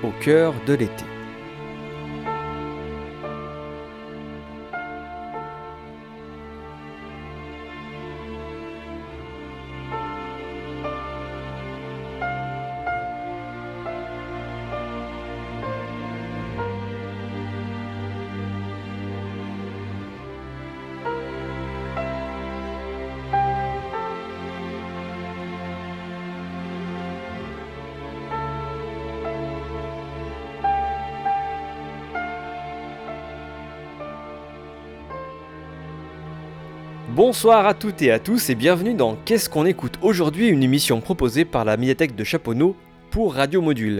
au cœur de l'été. Bonsoir à toutes et à tous et bienvenue dans Qu'est-ce qu'on écoute aujourd'hui, une émission proposée par la médiathèque de Chaponneau pour Radio Module.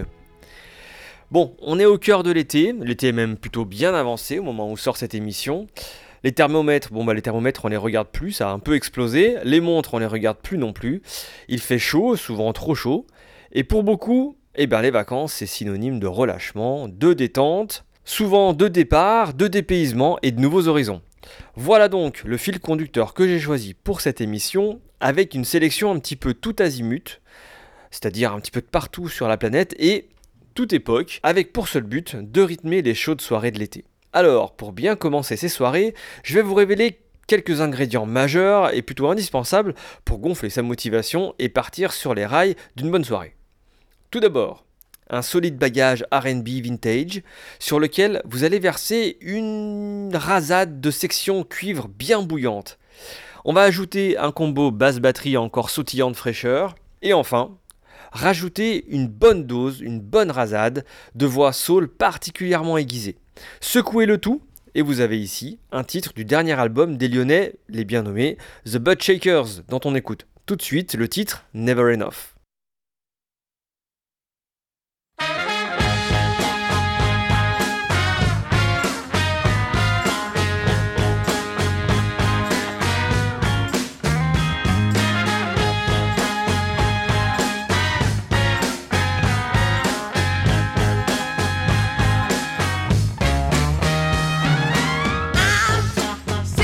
Bon, on est au cœur de l'été est même plutôt bien avancé au moment où sort cette émission. Les thermomètres, les thermomètres on les regarde plus, ça a un peu explosé. Les montres on les regarde plus non plus. Il fait chaud, souvent trop chaud. Et pour beaucoup, les vacances c'est synonyme de relâchement, de détente, souvent de départ, de dépaysement et de nouveaux horizons. Voilà donc le fil conducteur que j'ai choisi pour cette émission, avec une sélection un petit peu tout azimut, c'est-à-dire un petit peu de partout sur la planète et toute époque, avec pour seul but de rythmer les chaudes soirées de l'été. Alors, pour bien commencer ces soirées, je vais vous révéler quelques ingrédients majeurs et plutôt indispensables pour gonfler sa motivation et partir sur les rails d'une bonne soirée. Tout d'abord, un solide bagage R&B vintage sur lequel vous allez verser une rasade de sections cuivre bien bouillante. On va ajouter un combo basse-batterie encore sautillant de fraîcheur. Et enfin, rajouter une bonne dose, une bonne rasade de voix soul particulièrement aiguisée. Secouez le tout et vous avez ici un titre du dernier album des Lyonnais, les bien nommés The Butt Shakers, dont on écoute tout de suite le titre Never Enough.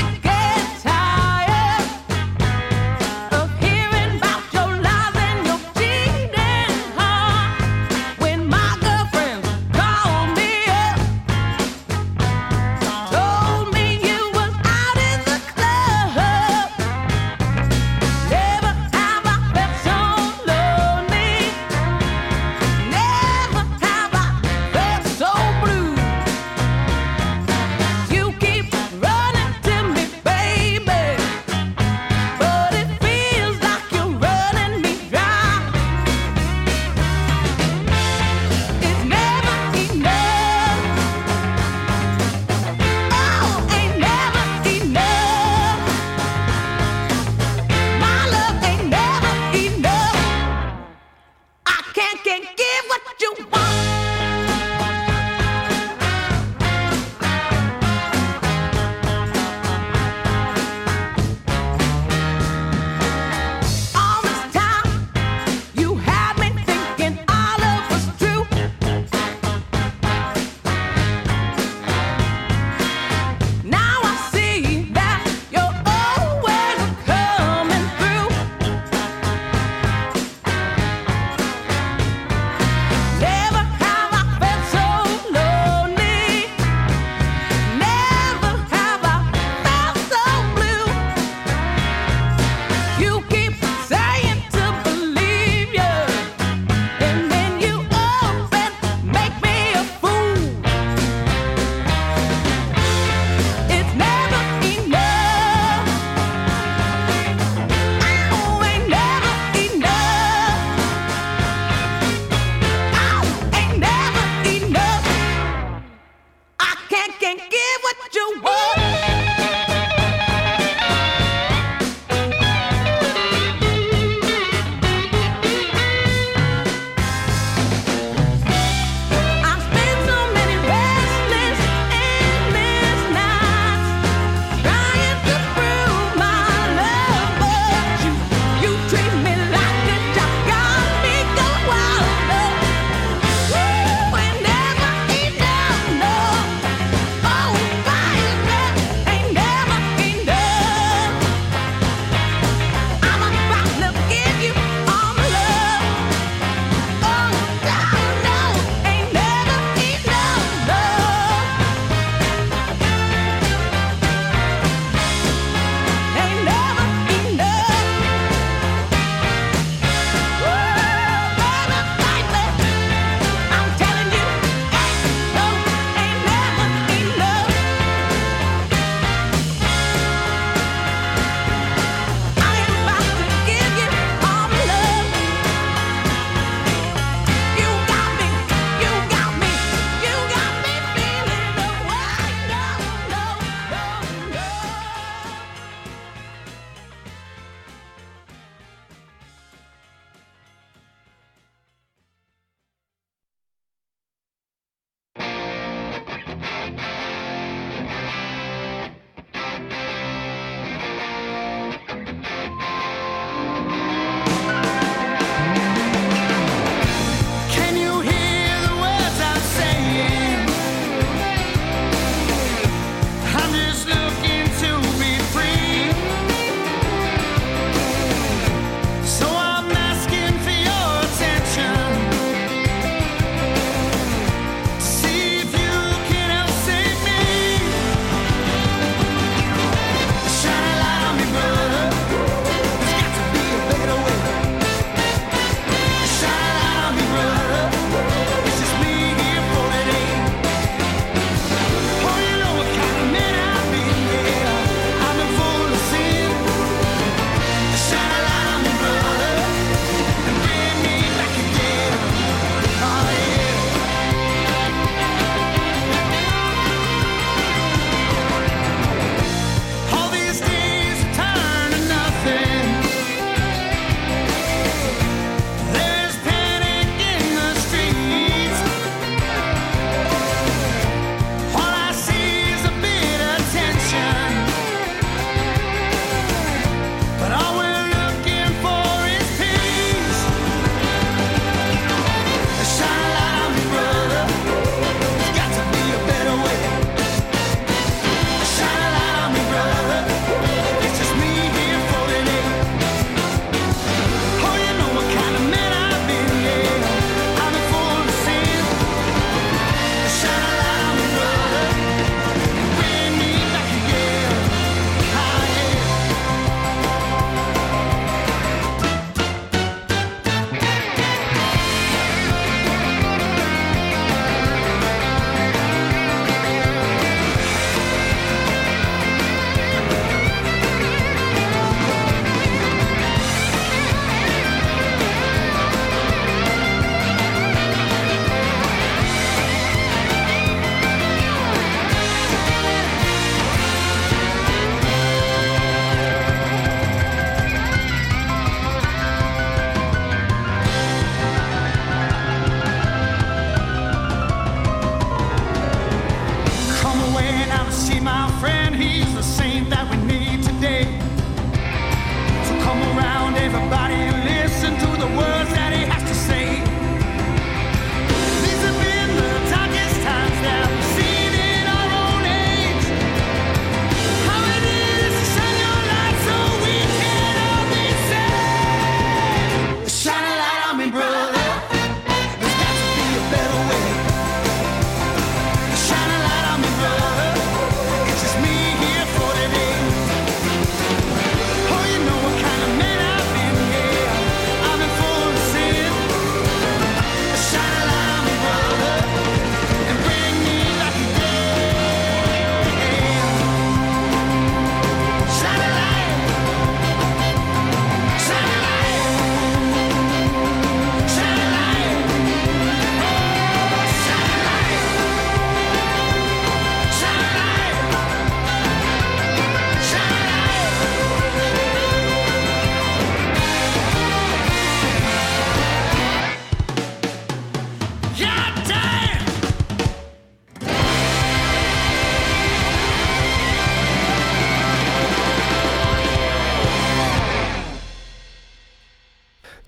Sick and tired of hearing about your lies and your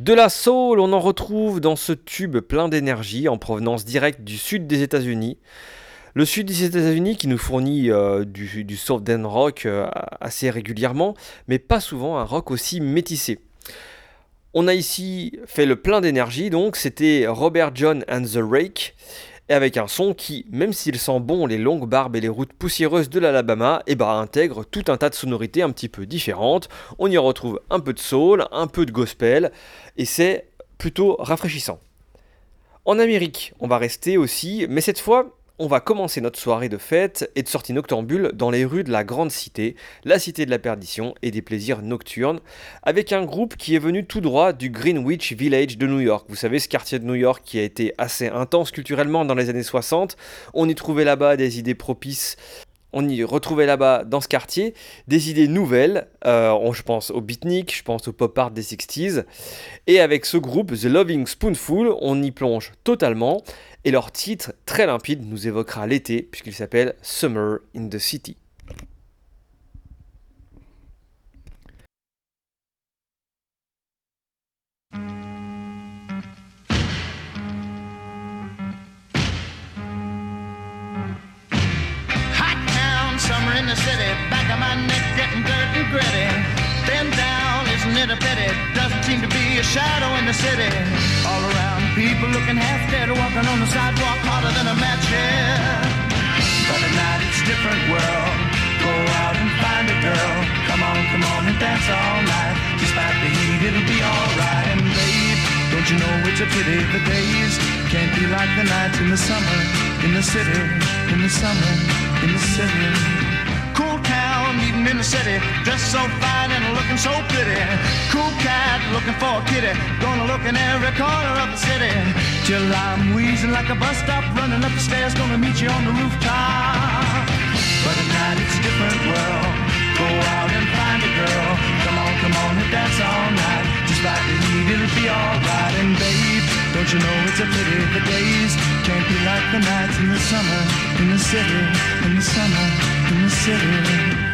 De la soul, on en retrouve dans ce tube plein d'énergie en provenance directe du sud des États-Unis. Le sud des États-Unis qui nous fournit du southern rock assez régulièrement, mais pas souvent un rock aussi métissé. On a ici fait le plein d'énergie, donc c'était Robert John and the Rake, et avec un son qui, même s'il sent bon les longues barbes et les routes poussiéreuses de l'Alabama, intègre tout un tas de sonorités un petit peu différentes. On y retrouve un peu de soul, un peu de gospel, et c'est plutôt rafraîchissant. En Amérique, on va rester aussi, mais cette fois, on va commencer notre soirée de fête et de sortie noctambule dans les rues de la grande cité, la cité de la perdition et des plaisirs nocturnes, avec un groupe qui est venu tout droit du Greenwich Village de New York. Vous savez, ce quartier de New York qui a été assez intense culturellement dans les années 60. On y trouvait là-bas des idées propices. On y retrouvait là-bas, dans ce quartier, des idées nouvelles. Je pense au beatnik, je pense au pop art des 60s. Et avec ce groupe, The Loving Spoonful, on y plonge totalement. Et leur titre, très limpide, nous évoquera l'été, puisqu'il s'appelle Summer in the City. Summer in the city, back of my neck getting dirt and gritty. Bend down, isn't it a pity? Doesn't seem to be a shadow in the city. All around, people looking half dead, walking on the sidewalk harder than a match here. But at night it's a different world. Go out and find a girl. Come on and dance all night. Despite the heat, it'll be alright. And babe, don't you know it's a pity the days can't be like the nights in the summer in the city, in the summer. In the city, cool town, meeting in the city, dressed so fine and looking so pretty. Cool cat, looking for a kitty, gonna look in every corner of the city. Till I'm wheezing like a bus stop, running up the stairs, gonna meet you on the rooftop. But at night it's a different world. Go out and find a girl. Come on and dance all night. Just like the heat, it'll be alright. And babe, don't you know it's a pity the days can't be like the nights in the summer, in the city, in the summer, in the city.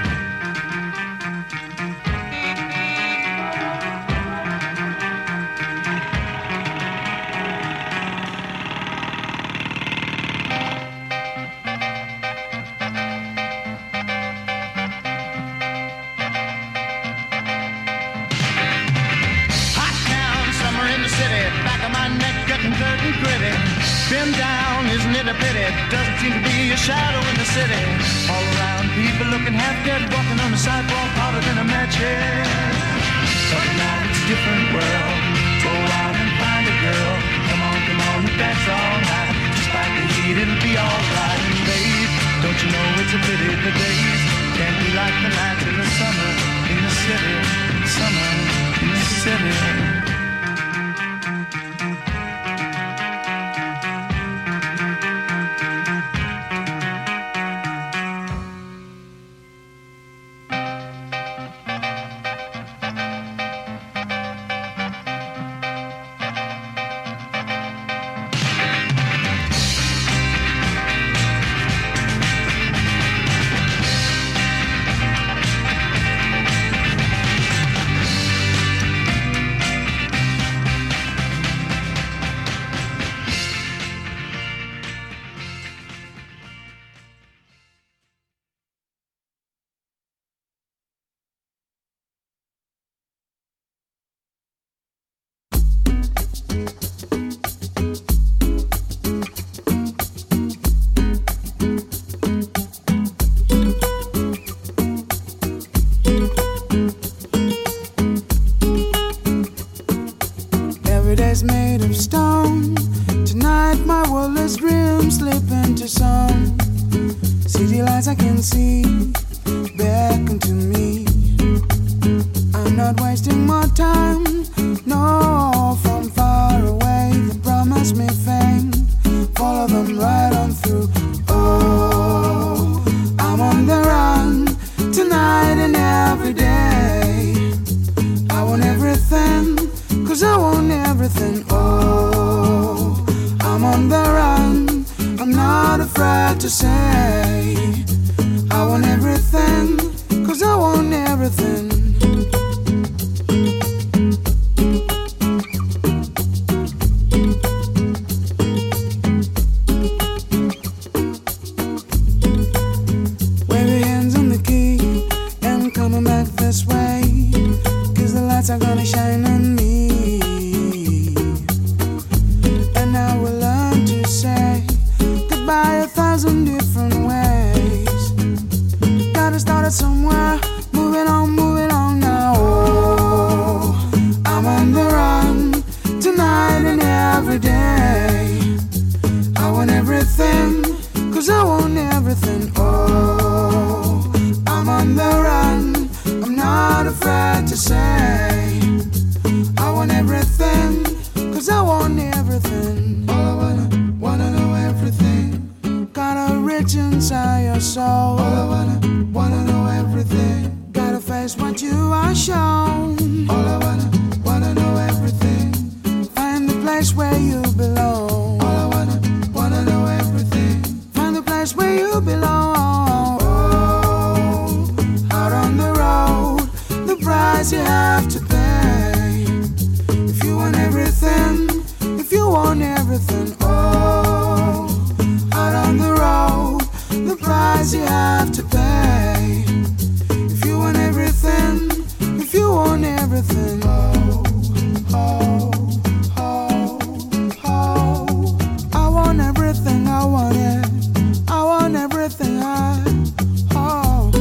Been down, isn't it a pity? Doesn't seem to be a shadow in the city. All around, people looking half dead, walking on the sidewalk harder than a match head. But now it's a different world. Go out and find a girl. Come on and dance all night. Despite the heat, it'll be alright. And babe, don't you know it's a pity the days can't be like the nights in the summer in the city. Summer in the city. Made of stone. Tonight my wordless dreams slip into song. City lights I can see beckon to me. I'm not wasting my time. No, from far away they promise me fame. Follow them right on through. Oh, I'm on the run tonight and every day. I want everything. 'Cause I want everything, oh, I'm on the run, I'm not afraid to say, I want everything, 'cause I want everything. get somewhere. Moving on now. Oh, I'm on the run tonight and every day. I want everything, 'cause I want everything. Oh, I'm on the run, I'm not afraid to say I want everything, 'cause I want everything. All I wanna know everything. Got a rich inside your soul. All I wanna know everything. Gotta face what you are shown. All I wanna know everything. Find the place where you belong. All I wanna know everything. Find the place where you belong. Oh, out on the road, the price you have to pay. If you want everything, if you want everything. Oh, out on the road, the price you have to pay. If you want everything, if you want everything. Oh, oh, oh, oh. I want everything, I want it. I want everything, oh.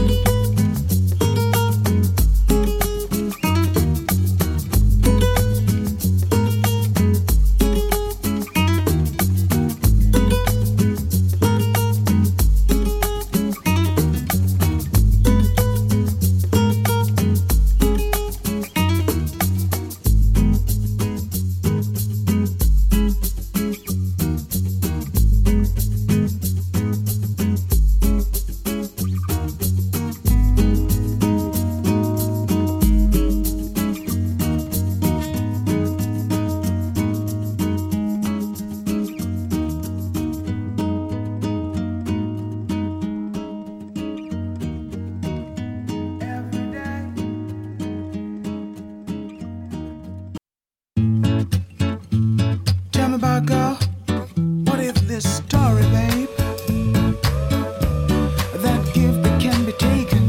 Tell me about girl, what if this story, babe? That gift that can be taken.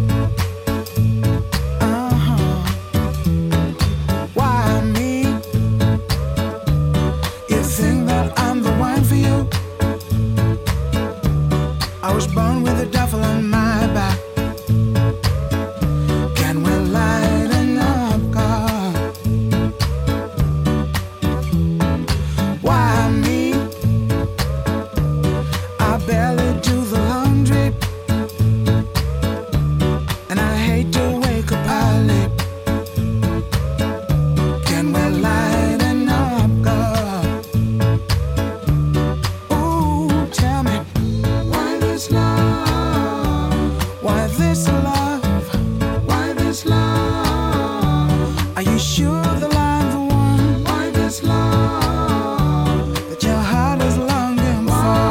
Why me? You think that I'm the one for you? I was born with the devil on my back. Can we lighten up, God? Why me? I barely do the laundry, and I hate to wake up early. Can we lighten up, God? Ooh, tell me, why this love? Why this love? Why this love? Are you sure that I'm the one? Why this love that your heart is longing for?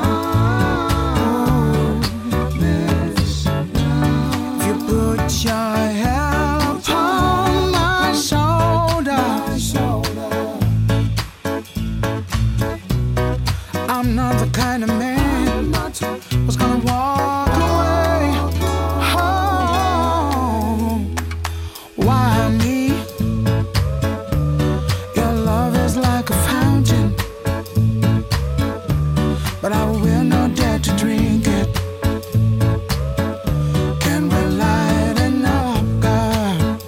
Ooh, this love. If you put your head upon my shoulder, I'm not the kind of man who's gonna walk away. Oh, why me? Your love is like a fountain, but I will not dare to drink it. Can we lighten up, God?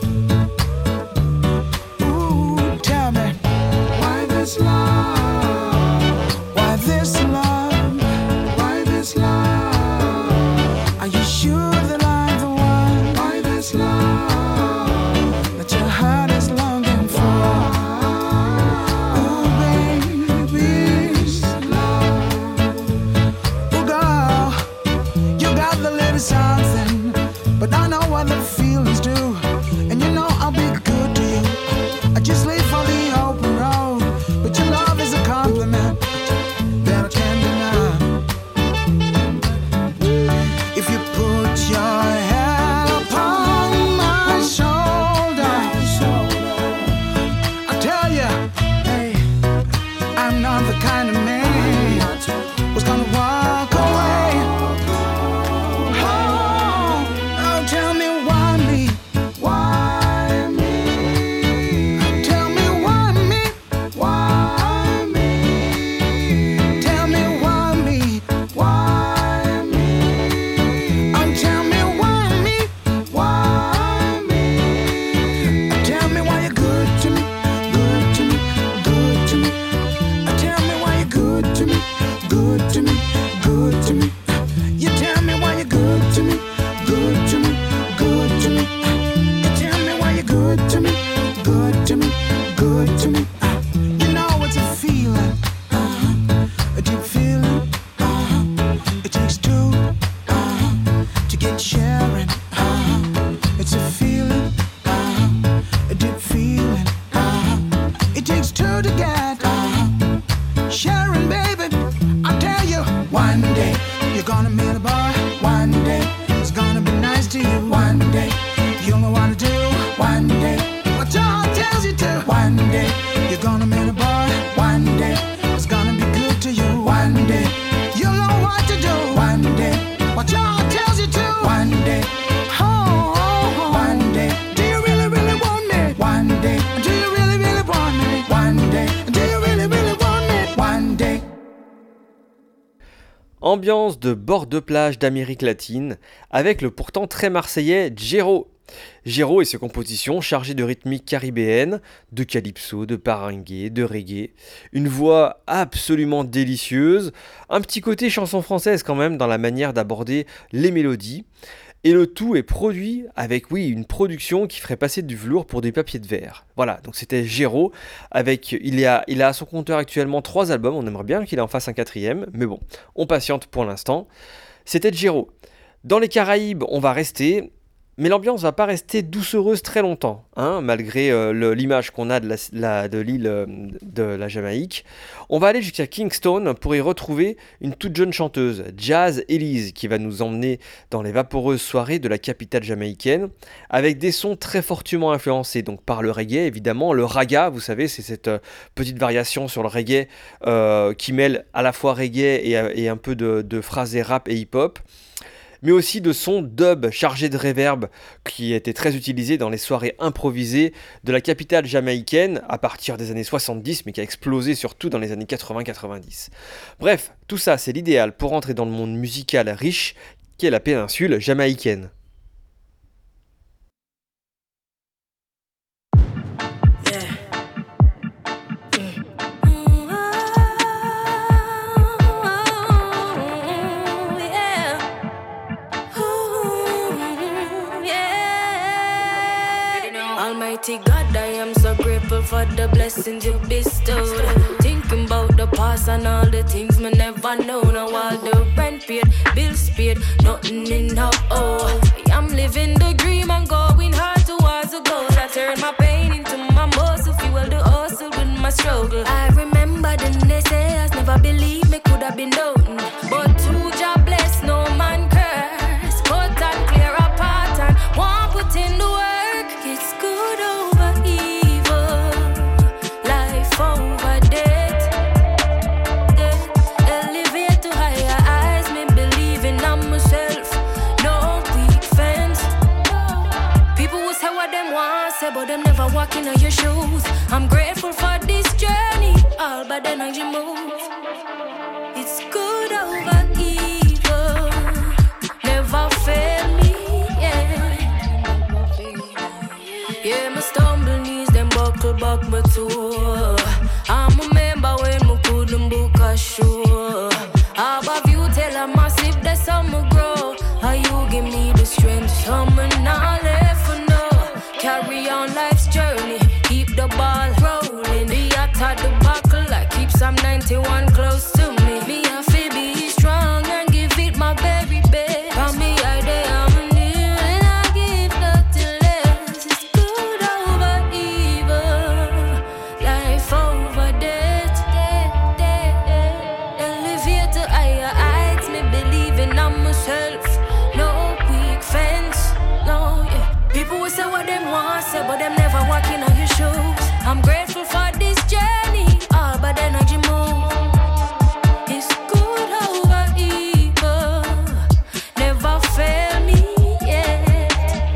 Ooh, tell me, why this love? Why this love? Why this love? Are you sure that I'm the one? Why this love that your heart is longing for? Ooh, baby, love. Ooh, girl, you got the little something, but I know what the feelings do, and you know I'll be good to you. I just leave for the open road, but your love is a compliment that I can't deny. If you put your head upon my shoulder, I tell you, hey, I'm not the kind of man who's gonna walk away. Oh, oh, tell me why me? Ambiance de bord de plage d'Amérique latine, avec le pourtant très marseillais Jero. Jero et ses compositions chargées de rythmiques caribéennes, de calypso, de parangue, de reggae. Une voix absolument délicieuse, un petit côté chanson française quand même dans la manière d'aborder les mélodies. Et le tout est produit avec, oui, une production qui ferait passer du velours pour des papiers de verre. Voilà, donc c'était Jero, il a à son compteur actuellement 3 albums, on aimerait bien qu'il en fasse un 4e, mais bon, on patiente pour l'instant. C'était Jero. Dans les Caraïbes, on va rester, mais l'ambiance va pas rester doucereuse très longtemps, hein, malgré l'image qu'on a de l'île de la Jamaïque. On va aller jusqu'à Kingston pour y retrouver une toute jeune chanteuse, Jazz Elise, qui va nous emmener dans les vaporeuses soirées de la capitale jamaïcaine, avec des sons très fortement influencés donc par le reggae, évidemment. Le raga, vous savez, c'est cette petite variation sur le reggae qui mêle à la fois reggae et un peu de phrasé rap et hip-hop, mais aussi de sons dub chargés de reverb qui étaient très utilisés dans les soirées improvisées de la capitale jamaïcaine à partir des années 70, mais qui a explosé surtout dans les années 80-90. Bref, tout ça c'est l'idéal pour entrer dans le monde musical riche qu'est la péninsule jamaïcaine. Almighty God, I am so grateful for the blessings you bestowed. Thinking about the past and all the things me never know. Now all the rent paid, bills paid, nothing in now. Oh, I'm living the dream and going hard towards the goal. I turn my pain into my muscle, fuel the hustle with my struggle. I remember the naysayers never believed me could have been done, but two job bless, no man curse. Cut and clear apart and one put in the work. It's good over evil, life over death. Elevate to higher heights, me believing in myself. No weak fence. People will say what them want, say, but them never walk in your shoes. I'm grateful for this journey, all but then I move. It's good over evil, never fail me. Yeah, my stumble knees, them buckle back my toe. I remember when me couldn't book a show. Above you tell a massive that's how me grow. How you give me the strength, some not left for no. Carry on life's journey, keep the ball rolling. The act at the buckle, I keep some 91 close to me. Me I feel be strong and give it my very best. From me I day I'm new and I give nothing less. It's good over evil, life over death. Elevate to higher heights, me believing in myself. No weak fence, no, yeah. People will say what them want, say, but them never walking on your shoes. I'm grateful for this journey, all but energy move. It's good over evil, never fail me yet.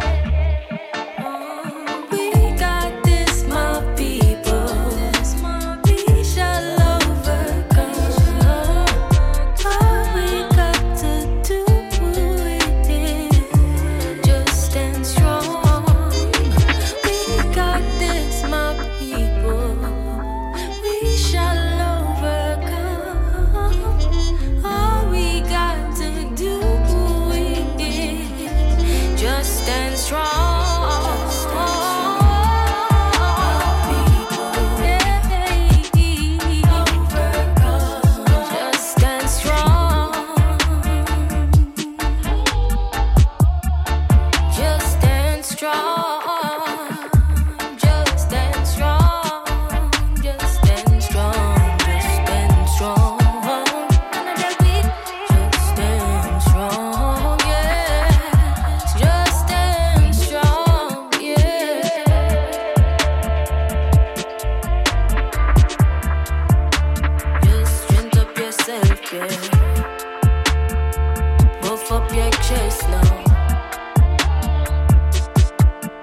We got this, my people. We shall overcome. All we got to do is just stand strong. We got this, my people. We shall overcome. All we got to do is just stand strong. Just stand strong. Just stand strong. Just stand strong. Just stand strong. Just stand strong. Just stand strong. Yes. Just stand strong. Yeah. Just strength up yourself, yeah. Buff up your chest now.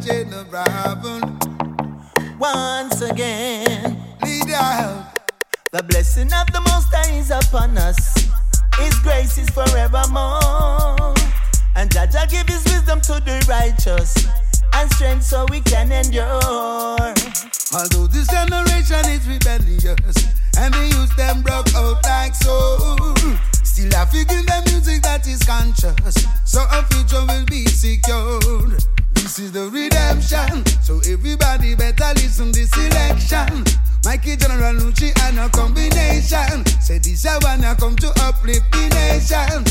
Once again, leader, the blessing of the Most High is upon us. His grace is forevermore. And Jaja give his wisdom to the righteous and strength so we can endure. Although this generation is rebellious and the youth them broke out like so, still I figure the music that is conscious, so a future will be secured. This is the redemption, so everybody better listen this election. Mikey General Lucci and a combination. Say this I wanna come to uplift the nation.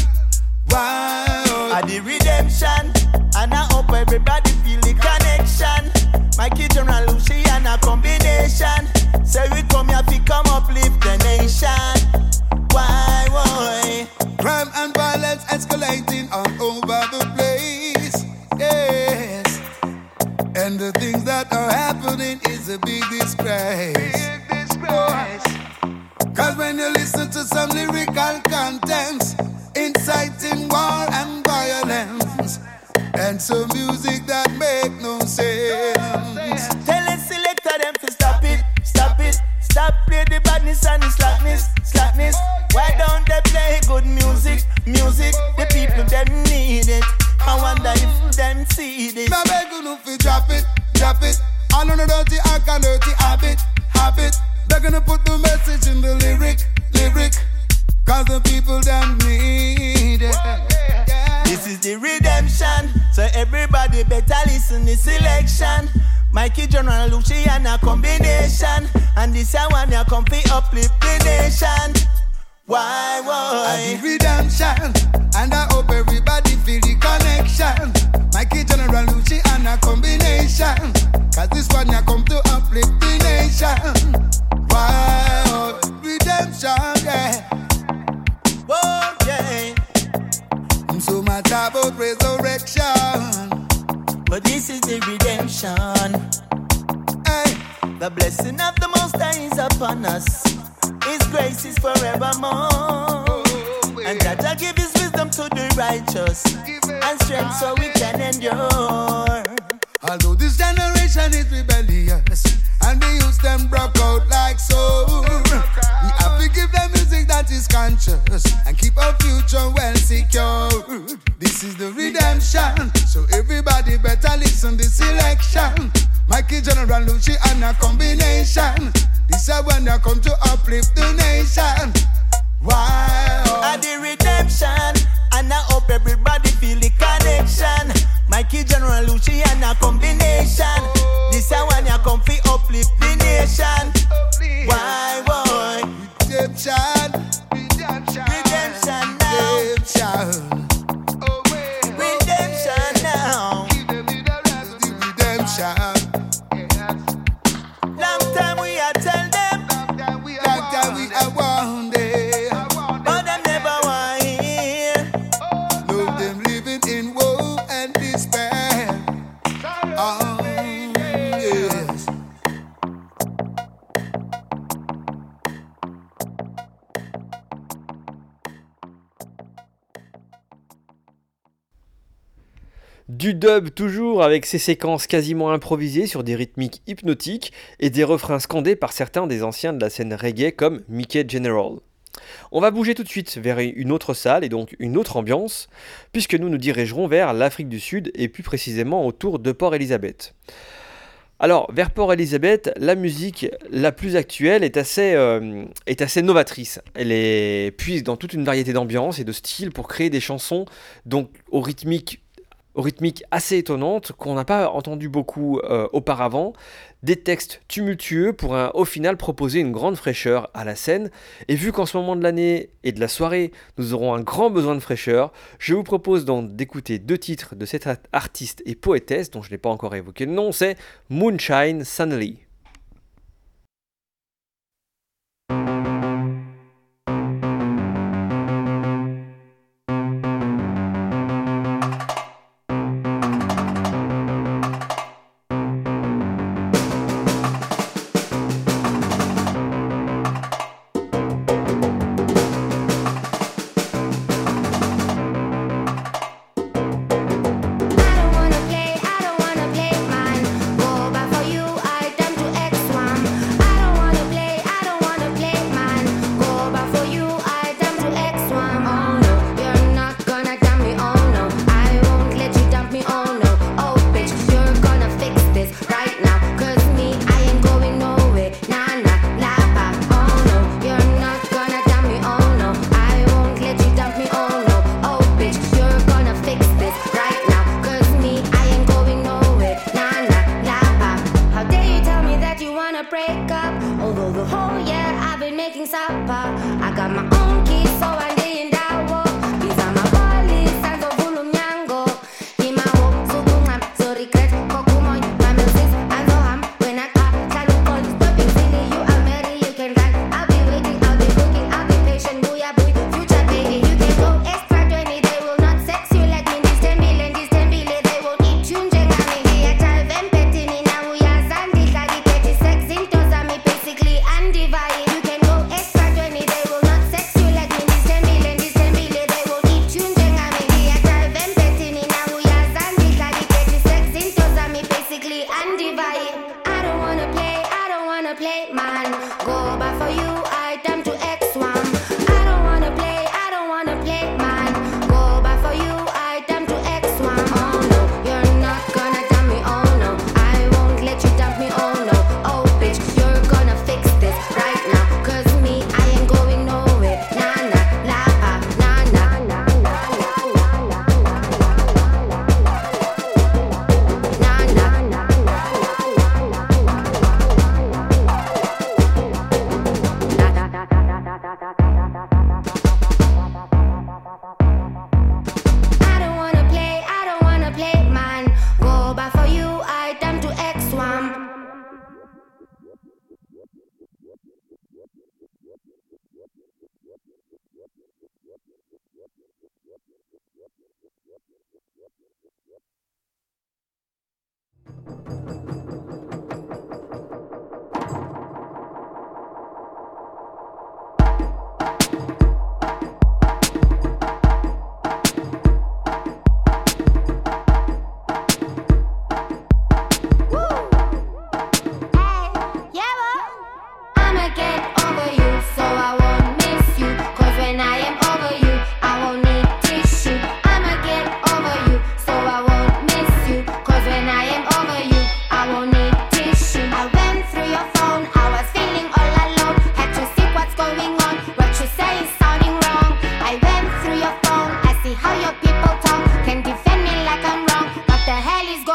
Wow. At the redemption, and I hope everybody feel the connection. Mikey General Lucci and a combination. Say we come here to come uplift the nation. Why, why? Crime and violence escalating all over the place. Yes. And the things that are happening is a big disgrace. Big disgrace. Cause when you listen to some lyrical contents inciting war and violence, and some music that make no sense. Tell the selector them to stop it, stop it. Stop play the badness and the slackness, slackness. Why don't they play good music, music? The people them need it. I wonder if them see this. I beg you no fi drop it, drop it. All on the dirty act and dirty habit, habit. They're gonna put the message in the lyric, lyric. Cause the people them need it. This is the redemption, so everybody better listen this selection. Mikey General Lucci and a combination, and this I want ya come fi uplift the nation. Why? And the redemption, and I hope everybody feel the connection. Mikey General Lucci and a combination, cause this one ya come to uplift the nation. Why? Redemption, yeah. Oh, yeah. So much about resurrection, but this is the redemption. hey. The blessing of the Most High is upon us. His grace is forevermore. And Jaja give his wisdom to the righteous and strength so we can endure. Although this generation is rebellious and the youth them broke out like so, we have to give them music that is conscious and keep our future well secure. This is the redemption, so everybody better listen this selection. Mikey General Lucci and a combination. This is when they come to uplift the nation. Wow. At the redemption, and I hope everybody feel the connection. Mikey General Lucci and a combination. This is when you come fi uplift the nation. Why, boy? Redemption, redemption, Redemption now. redemption. Redemption now. Redemption. Long time we are tell them, Like that we are one day. but them never want hear. No, them living in woe and despair. Oh, yes. Du dub toujours avec ses séquences quasiment improvisées sur des rythmiques hypnotiques et des refrains scandés par certains des anciens de la scène reggae comme Mickey General. On va bouger tout de suite vers une autre salle et donc une autre ambiance, puisque nous nous dirigerons vers l'Afrique du Sud et plus précisément autour de Port Elizabeth. Alors, vers Port Elizabeth, la musique la plus actuelle est assez novatrice. Elle puise dans toute une variété d'ambiances et de styles pour créer des chansons donc aux rythmiques assez étonnantes qu'on n'a pas entendu beaucoup auparavant, des textes tumultueux pour au final proposer une grande fraîcheur à la scène. Et vu qu'en ce moment de l'année et de la soirée, nous aurons un grand besoin de fraîcheur, je vous propose donc d'écouter 2 titres de cette artiste et poétesse, dont je n'ai pas encore évoqué le nom, c'est Moonshine Sunley. I don't wanna play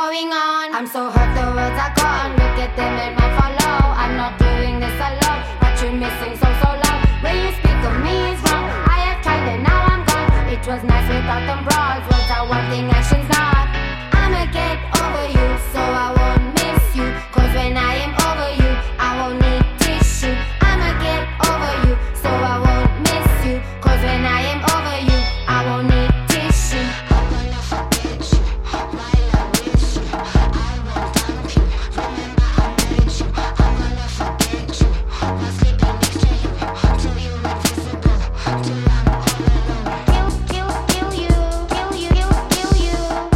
going on. I'm so hurt the words are gone. Look at them and my follow. I'm not doing this alone, but you're missing so loud. When you speak of me is wrong. I have tried and now I'm gone. It was nice without them bras. Words are one thing, action's not. I'ma get over you, so I won't miss you. Cause when I am over you, I won't need tissue. I'ma get over you, so I won't miss you. Cause when I am over you, I won't need tissue. I'm gonna forget you, while I wish you. I won't dump you, remember I met you. I'm gonna forget you, while sleeping next to you. Till you're invisible, till I'm all alone. Kill you, kill you, kill you.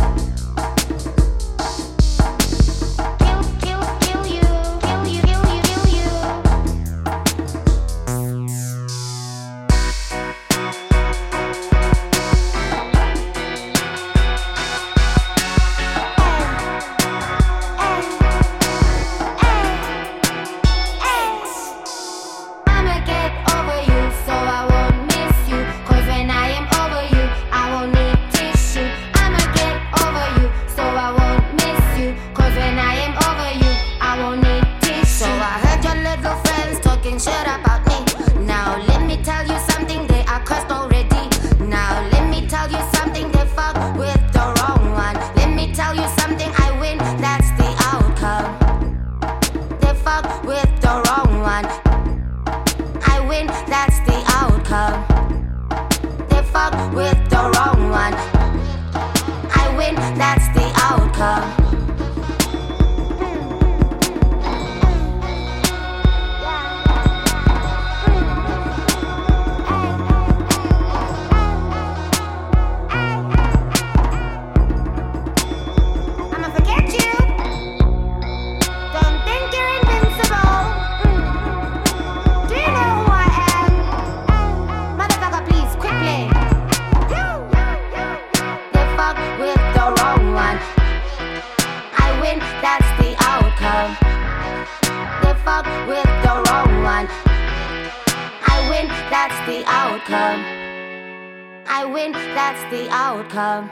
I'ma get over you, so I won't miss you. Cause when I am over you, I won't need tissue. I'ma get over you, so I won't miss you. Cause when I am over you, I won't need tissue. So I heard your little friends talking shit about me. Now let me tell you something, they are cursed already. Now let me tell you something, they fuck with the wrong one. Let me tell you something, I win, that's the outcome. They fuck with the wrong one. I win, that's the outcome. They fuck with the wrong one. I win, that's the outcome. I'ma forget you. Don't think you're invincible. Do you know who I am? Motherfucker, please, quit playing. They fuck with the wrong one. I win, that's the outcome. They fuck with the wrong one. I win, that's the outcome. I win, that's the outcome.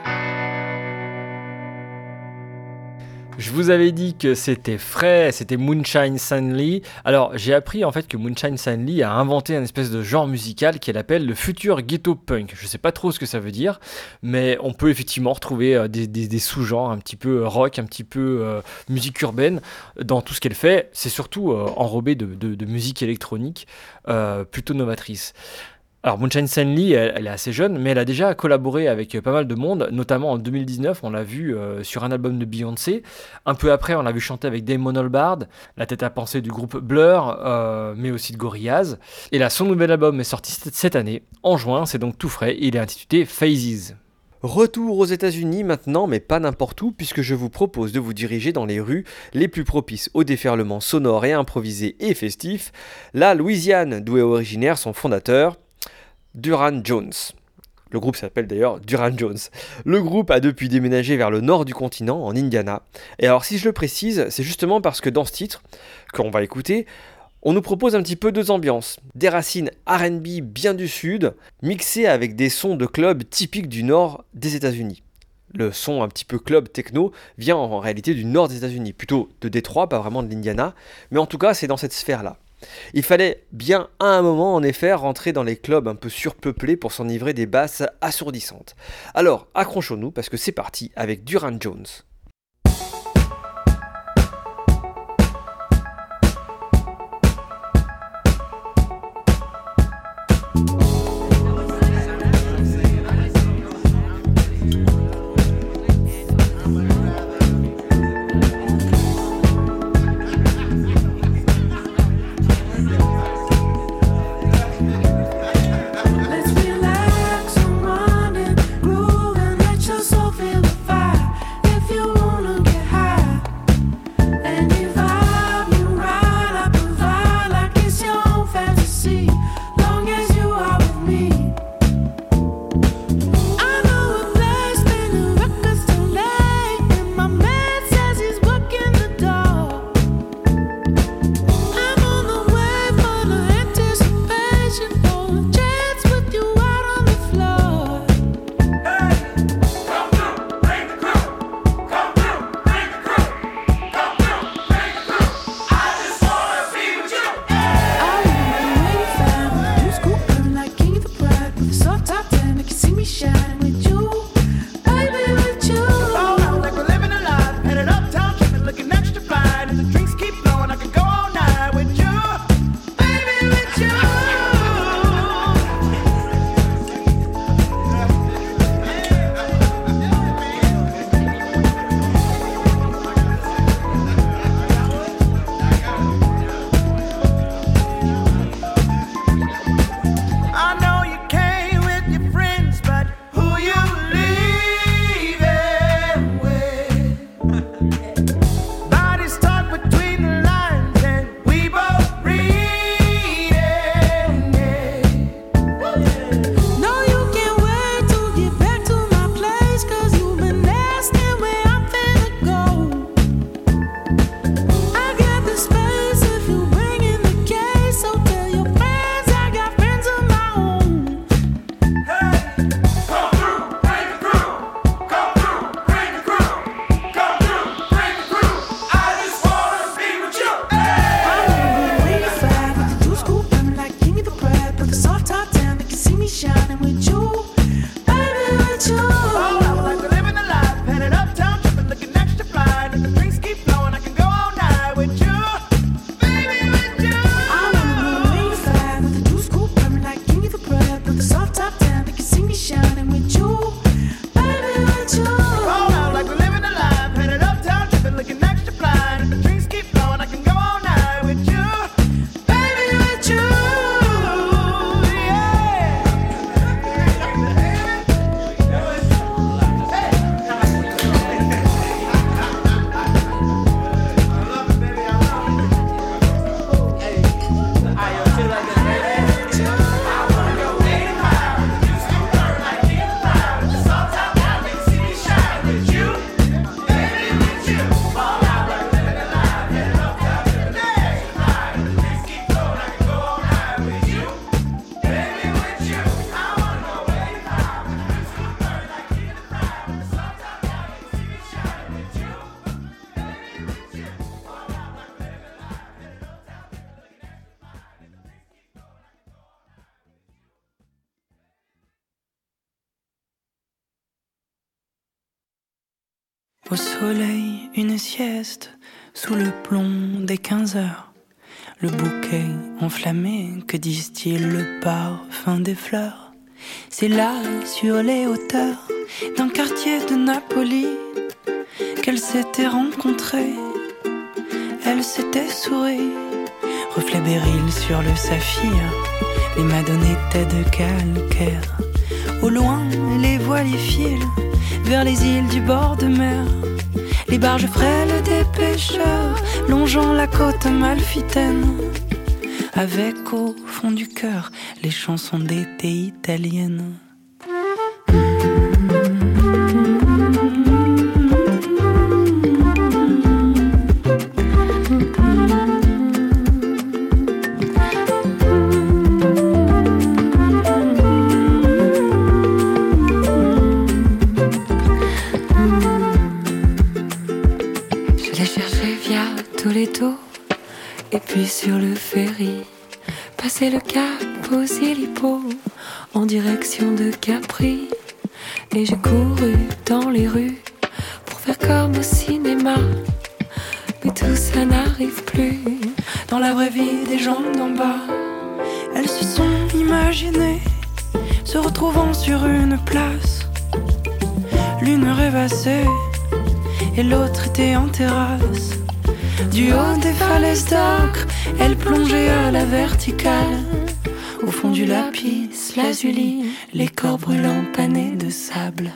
Je vous avais dit que c'était frais, c'était Moonshine Stanley. Alors j'ai appris en fait que Moonshine Stanley a inventé un espèce de genre musical qu'elle appelle le futur ghetto punk. Je sais pas trop ce que ça veut dire, mais on peut effectivement retrouver des sous-genres un petit peu rock, un petit peu musique urbaine dans tout ce qu'elle fait. C'est surtout enrobé de musique électronique plutôt novatrice. Alors Moonshine Stanley, elle est assez jeune, mais elle a déjà collaboré avec pas mal de monde, notamment en 2019, on l'a vu sur un album de Beyoncé. Un peu après, on l'a vu chanter avec Damon Albarn, la tête à penser du groupe Blur, mais aussi de Gorillaz. Et là, son nouvel album est sorti cette année, en juin, c'est donc tout frais, il est intitulé Phases. Retour aux États-Unis maintenant, mais pas n'importe où, puisque je vous propose de vous diriger dans les rues les plus propices au déferlement sonore et improvisé et festif, la Louisiane, d'où est originaire son fondateur, Durand Jones. Le groupe s'appelle d'ailleurs Durand Jones. Le groupe a depuis déménagé vers le nord du continent, en Indiana. Et alors si je le précise, c'est justement parce que dans ce titre, qu'on va écouter, on nous propose un petit peu deux ambiances. Des racines R&B bien du sud, mixées avec des sons de club typiques du nord des États-Unis. Le son un petit peu club techno vient en réalité du nord des États-Unis, plutôt de Détroit, pas vraiment de l'Indiana, mais en tout cas c'est dans cette sphère-là. Il fallait bien à un moment en effet rentrer dans les clubs un peu surpeuplés pour s'enivrer des basses assourdissantes. Alors accrochons-nous parce que c'est parti avec Durand Jones. Relax and run and groove and let your soul feel the fire. If you Au soleil, une sieste, sous le plomb des 15 heures. Le bouquet enflammé, que distille le parfum des fleurs. C'est là, sur les hauteurs d'un quartier de Napoli, qu'elles s'étaient rencontrées. Elles s'étaient souri, reflet béryl sur le saphir. Les madones étaient de calcaire. Au loin, les voiles filent vers les îles du bord de mer. Les barges frêles des pêcheurs longeant la côte amalfitaine. Avec au fond du cœur les chansons d'été italiennes. Et puis sur le ferry, passer le cap aux Hélipo en direction de Capri. Et j'ai couru dans les rues pour faire comme au cinéma. Mais tout ça n'arrive plus dans la vraie vie des gens d'en bas. Elles se sont imaginées se retrouvant sur une place. L'une rêvassait et l'autre était en terrasse. Du haut des falaises d'ocre, elle plongeait à la verticale. Au fond du lapis, lazuli, les corps brûlants panés de sable.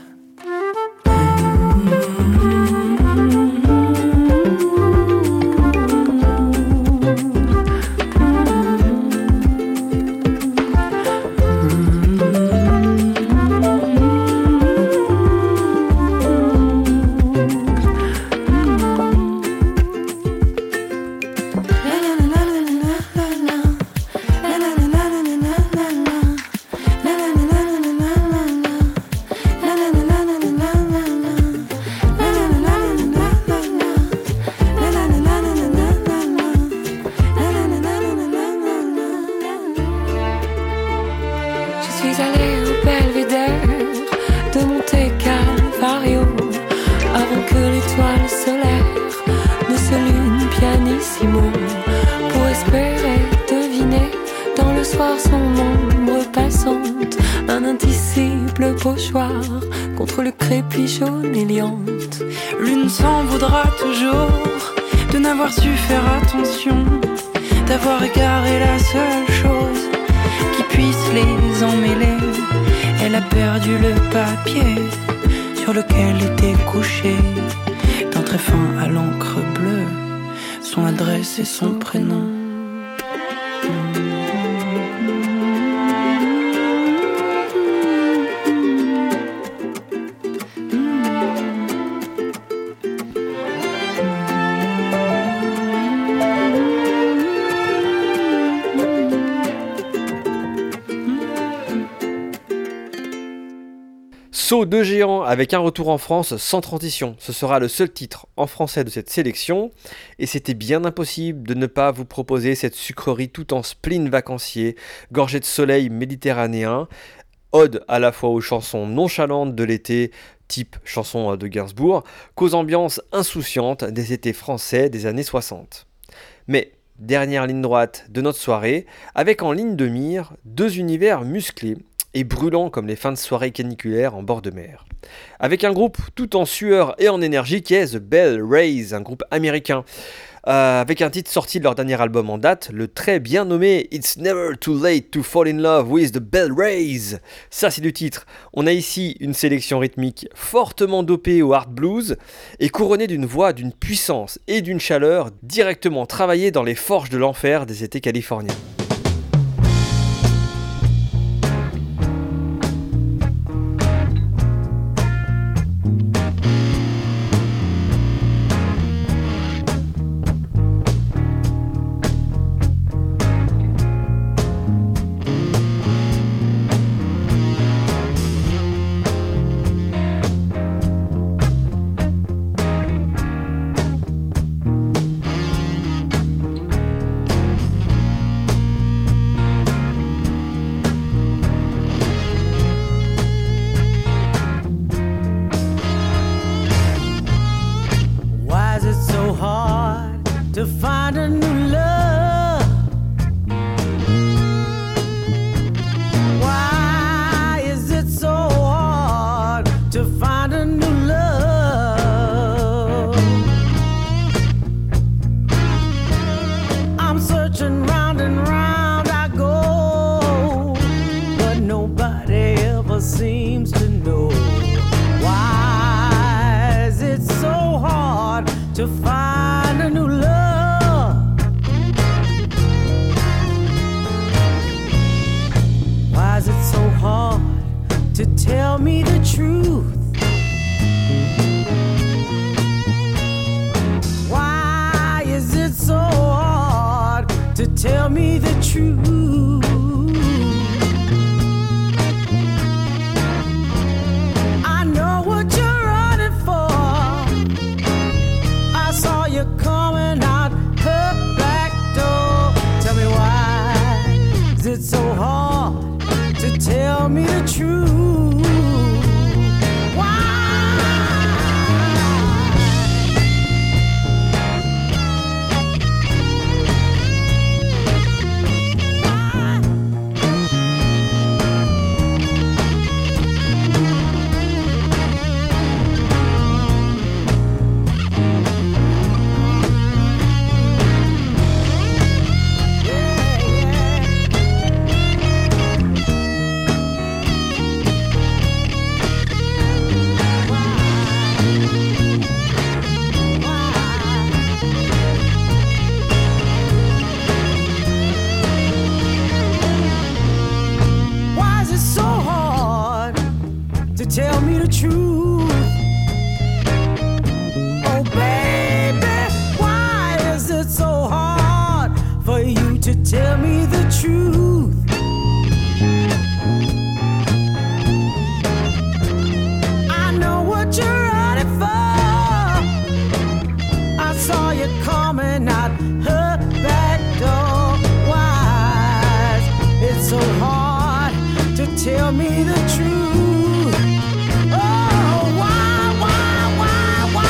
Contre le crépi jaune et liante. L'une s'en voudra toujours de n'avoir su faire attention, d'avoir égaré la seule chose qui puisse les emmêler. Elle a perdu le papier sur lequel était couché, d'un trait fin à l'encre bleue, son adresse et son prénom. Saut de géant avec un retour en France sans transition. Ce sera le seul titre en français de cette sélection. Et c'était bien impossible de ne pas vous proposer cette sucrerie tout en spleen vacancier, gorgée de soleil méditerranéen, ode à la fois aux chansons nonchalantes de l'été, type chanson de Gainsbourg, qu'aux ambiances insouciantes des étés français des années 60. Mais dernière ligne droite de notre soirée, avec en ligne de mire deux univers musclés et brûlants comme les fins de soirée caniculaires en bord de mer. Avec un groupe tout en sueur et en énergie qui est The Bell Rays, un groupe américain, avec un titre sorti de leur dernier album en date, le très bien nommé It's Never Too Late to Fall in Love with the Bell Rays. Ça c'est du titre. On a ici une sélection rythmique fortement dopée au hard blues et couronnée d'une voix d'une puissance et d'une chaleur directement travaillée dans les forges de l'enfer des étés californiens. to find a new love? Why is it so hard to find a new love? I'm searching round and round I go, but nobody ever seems to know. Why is it so hard to find a new love? Why is it so hard to tell me the truth? Why is it so hard to tell me the truth? I know what you're running for. I saw you coming out her back door. Tell me why is it so hard to tell me the truth? Why is it so hard to tell me the truth? Oh baby, why is it so hard for you to tell me the truth? I know what you're running for. I saw you coming out her back door. Why is it so hard to tell me the truth? Oh, why, why, why, why?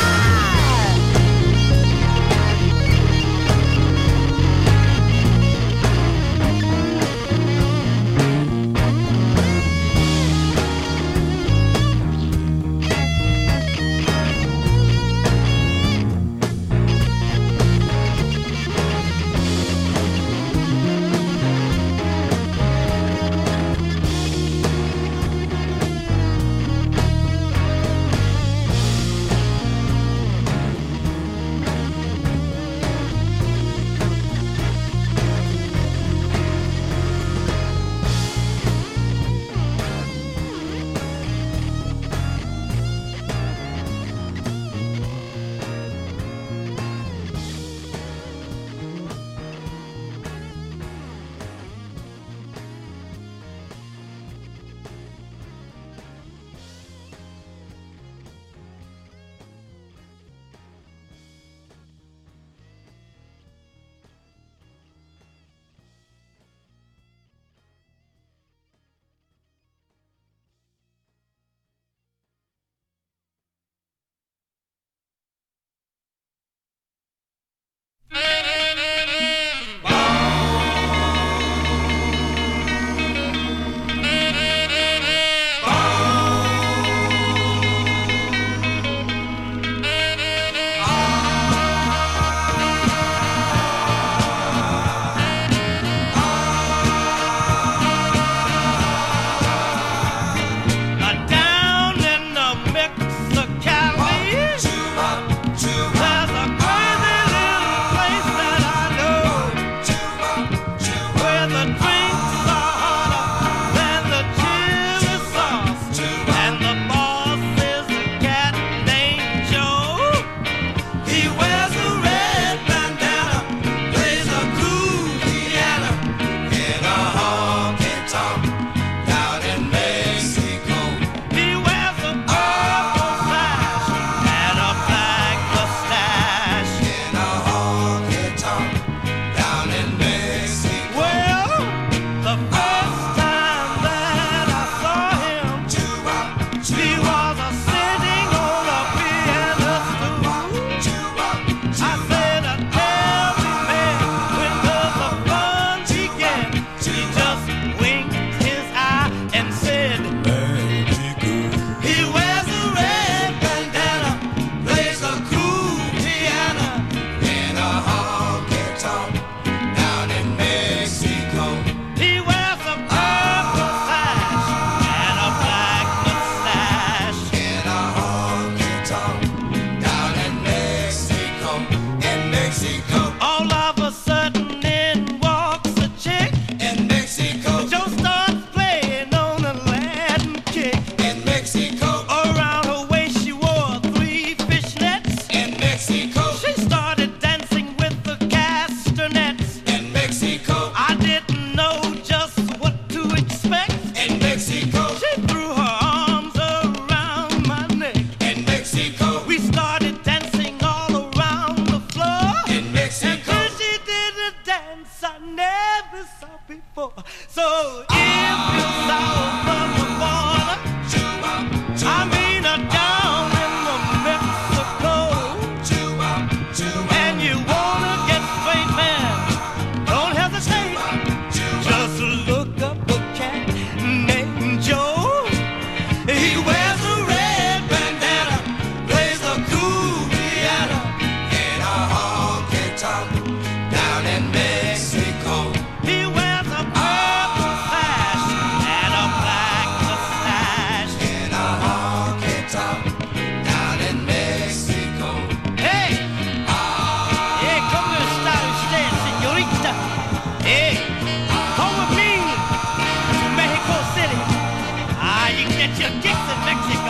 Mexico. All of a sudden in walks a chick in Mexico. Joe starts playing on a Latin kick in Mexico. Around her waist she wore 3 fishnets in Mexico. She started dancing with the castanets in Mexico. I didn't know just what to expect in Mexico. She threw her arms around my neck in Mexico. We started dancing all around the floor in Mexico. And then she did a dance I never saw before. So if you're south of the border, I mean down in the Mexico, and you wanna get straight, man, don't hesitate. Just look up a cat named Joe. He wears a red bandana, plays a cool piano in a honky tonk down in Mexico. He wears a purple sash and a black mustache in a honky tonk down in Mexico. Hey, yeah, come to the style usted, señorita. Hey, come with me to Mexico City. You can get your kicks in Mexico.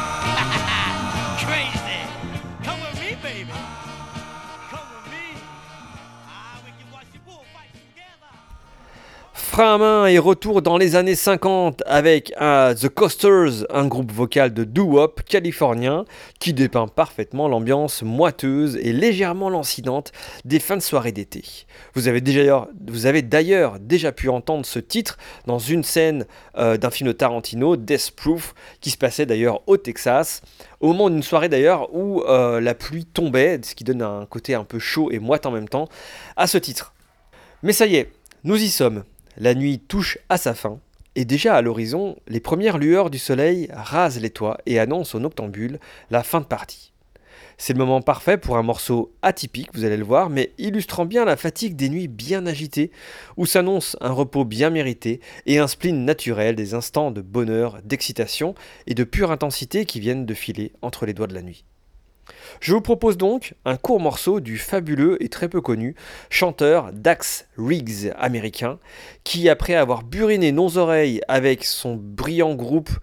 Crazy. Come with me, baby. Come with me. We can watch the bullfights together. Frein à main et retour dans les années 50 avec The Coasters, un groupe vocal de doo-wop californien qui dépeint parfaitement l'ambiance moiteuse et légèrement lancinante des fins de soirée d'été. Vous avez d'ailleurs déjà pu entendre ce titre dans une scène d'un film de Tarantino, Death Proof, qui se passait d'ailleurs au Texas, au moment d'une soirée d'ailleurs où la pluie tombait, ce qui donne un côté un peu chaud et moite en même temps à ce titre. Mais ça y est, nous y sommes. La nuit touche à sa fin, et déjà à l'horizon, les premières lueurs du soleil rasent les toits et annoncent aux noctambules la fin de partie. C'est le moment parfait pour un morceau atypique, vous allez le voir, mais illustrant bien la fatigue des nuits bien agitées, où s'annonce un repos bien mérité et un spleen naturel des instants de bonheur, d'excitation et de pure intensité qui viennent de filer entre les doigts de la nuit. Je vous propose donc un court morceau du fabuleux et très peu connu chanteur Dax Riggs américain, qui après avoir buriné nos oreilles avec son bruyant groupe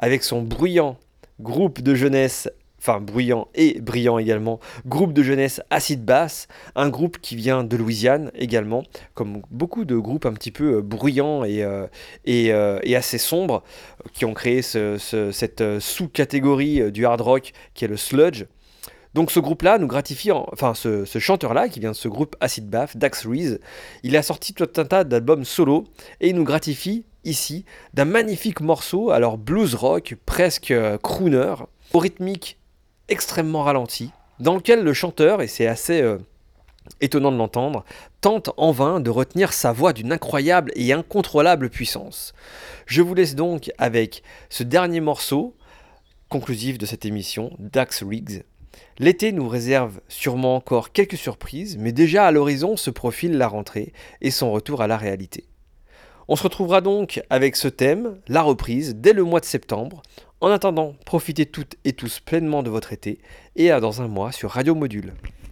de jeunesse, enfin bruyant et brillant également, groupe de jeunesse Acid Bass, un groupe qui vient de Louisiane également, comme beaucoup de groupes un petit peu bruyants et assez sombres, qui ont créé cette sous-catégorie du hard rock qui est le sludge. Donc ce groupe-là nous gratifie, ce chanteur-là qui vient de ce groupe Acid Bath, Dax Riggs, il a sorti tout un tas d'albums solo et il nous gratifie ici d'un magnifique morceau, alors blues rock, presque crooner, au rythmique extrêmement ralenti, dans lequel le chanteur, et c'est assez étonnant de l'entendre, tente en vain de retenir sa voix d'une incroyable et incontrôlable puissance. Je vous laisse donc avec ce dernier morceau, conclusif de cette émission, Dax Riggs. L'été nous réserve sûrement encore quelques surprises, mais déjà à l'horizon se profile la rentrée et son retour à la réalité. On se retrouvera donc avec ce thème, la reprise, dès le mois de septembre. En attendant, profitez toutes et tous pleinement de votre été et à dans un mois sur Radio Module.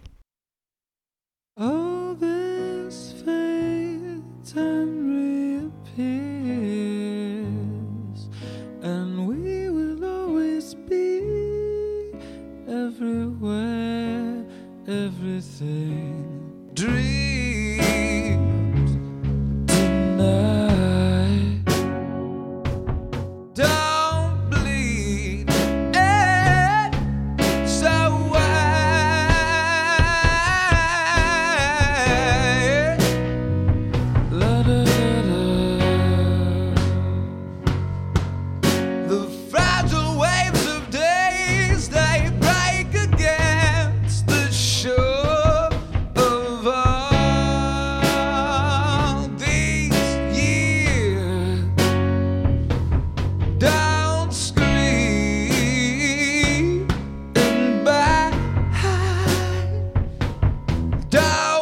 All this fades and reappears, and we will always be everywhere, everything. Dreams tonight. Don't bleed it so wide. La da da da. The fragile waves of days, they break against the shore of all these years. Don't scream and back. Don't